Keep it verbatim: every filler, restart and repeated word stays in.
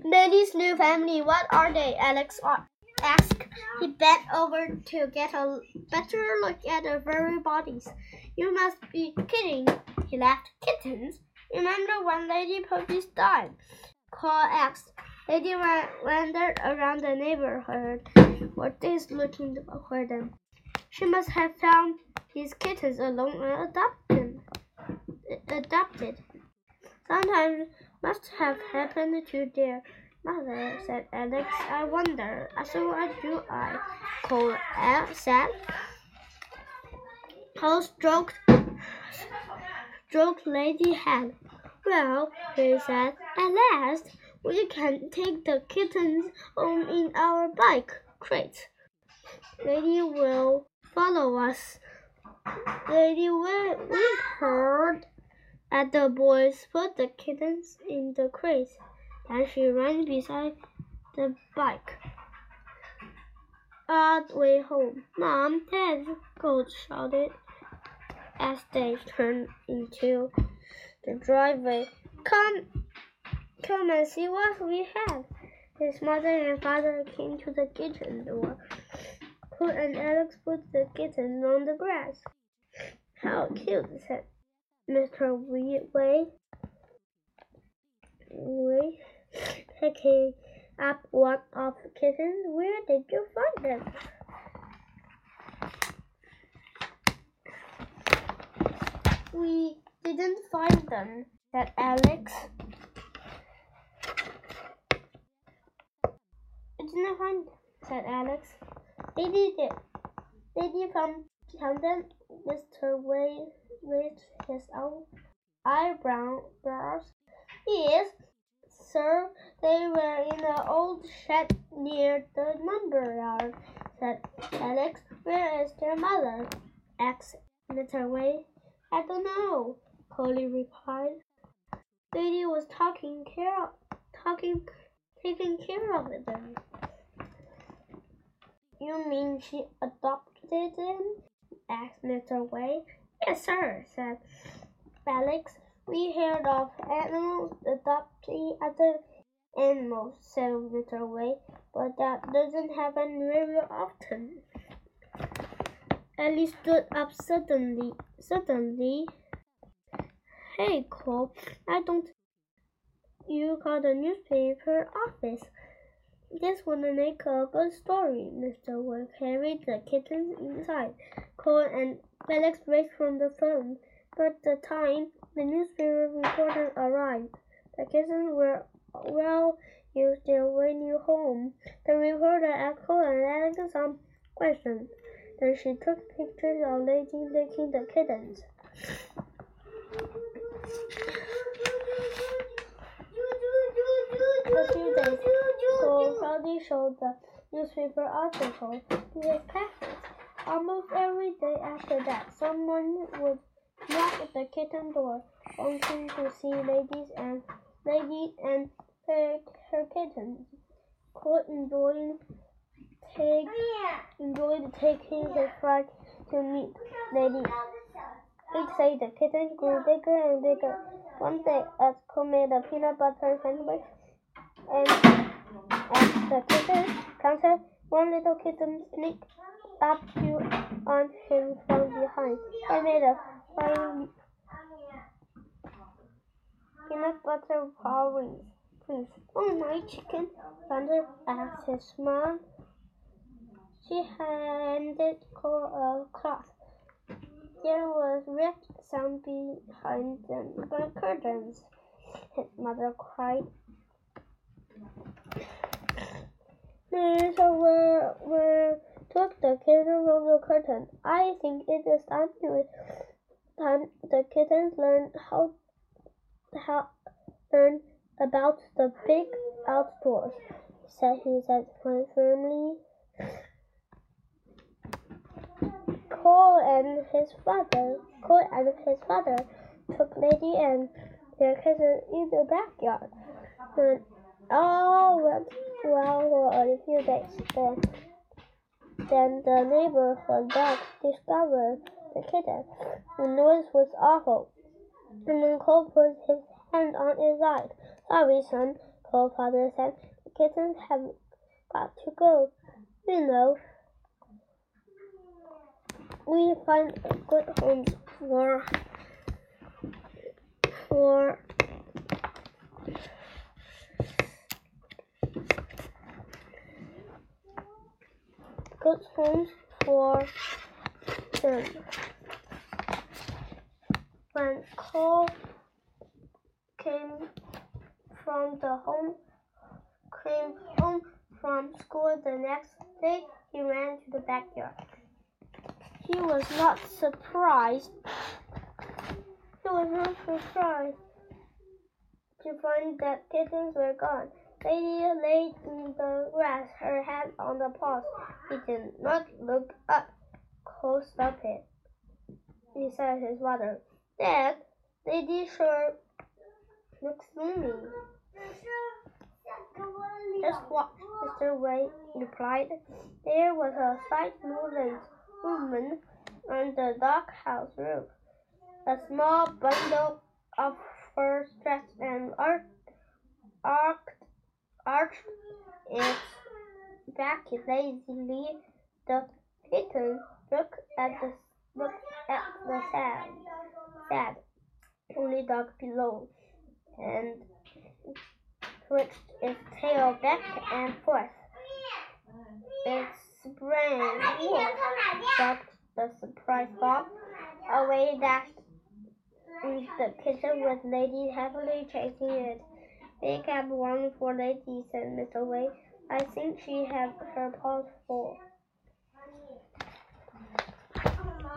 Lady's new family, what are they? Alex asked. He bent over to get a better look at their very bodies. You must be kidding, he laughed. Kittens? Remember when Lady Puppies died? Cole asked. Lady wandered around the neighborhood for days looking for them. She must have found these kittens alone and adopted. adopted. Sometimes must have happened to their mother, said Alex. I wonder. So what do I? Cole said. Cole stroked, stroked Lady's head. Well, he said, at last, we can take the kittens home in our bike crate. Lady will follow us. Lady whimpered at the boys, put the kittens in the crate. Then she ran beside the bike. All the way home. Mom, Dad, Gold shouted as they turned into the driveway. Come, come and see what we have. His mother and father came to the kitchen door. Cole and Alex put the kittens on the grass. How cute, said Mister Wei. Wei, picking up one of the kittens. Where did you find them? We didn't find them, said Alex. I didn't find them, said Alex. Lady did. Lady found them. Mister Wei raised his own eyebrows. Yes, sir, they were in an old shed near the lumber yard, said Alex. Where is their mother? asked Mister Wei. I don't know, Polly replied. Lady was taking care, talking, taking care of them. You mean she adopted them? asked Mister Wei. Yes, sir, said Alex. We heard of animals adopting other animals, said Mister Wei, but that doesn't happen very often. Ellie stood up suddenly. Suddenly, hey, Cole, why don't you call the newspaper office? This would make a good story. Mister Wei carried the kittens inside. Cole and Alex raced from the phone. By the time the newspaper reporter arrived, the kittens were well used their way new home. The reporter asked Cole and Alex some questions. Then she took pictures of Lady licking the kittens. A few days ago, Cloudy showed the newspaper article to his classmates. Almost every day after that, someone would knock at the kitten door, wanting to see ladies and lady and her, her kittens. Cole enjoyed, take, enjoyed taking his flight to meet ladies. He'd say the kittens grew bigger and bigger. One day, as Cole made a peanut butter sandwich, and at the kitchen counter, one little kitten sneaked up to on him from behind. I made a fine peanut butter porridge, please. Oh, my chicken, Thunder asked his mom. She handed Cole a cloth. There was red sound behind them, the curtains, his mother cried. Mister Wei Wei took the kitten from the curtain. I think it is time to time the kittens learn how how learn about the big outdoors, said he said quite firmly. Cole and his father Cole and his father took Lady and their kittens in the backyard. When all went well for a few days. Then, then the neighborhood dogs discovered the kitten. The noise was awful. And then Cole put his hand on his eye. Sorry, son, her father said. The kittens have got to go. You know, we find a good home for for good homes for them. When Cole came from the home came home from school the next day, he ran to the backyard. He was not surprised. He was not surprised to find that kittens were gone. Lady lay in the grass, her head on the paws. He did not look up. Cole stopped it. He said to his father, Dad, Lady sure looks lonely. Just watch, Mister Wei replied. There was a slight movement, movement on the doghouse roof. A small bundle of fur stretched and arched, arched, arched its back lazily. The kitten looked at the looked at the sad, sad, only dog below, and twitched its tail back and forth. Its brain shocked the surprised dog. Away dashed into the kitchen with Lady happily chasing it. They kept one for Lady, said Mister Wei. I think she had her paws full.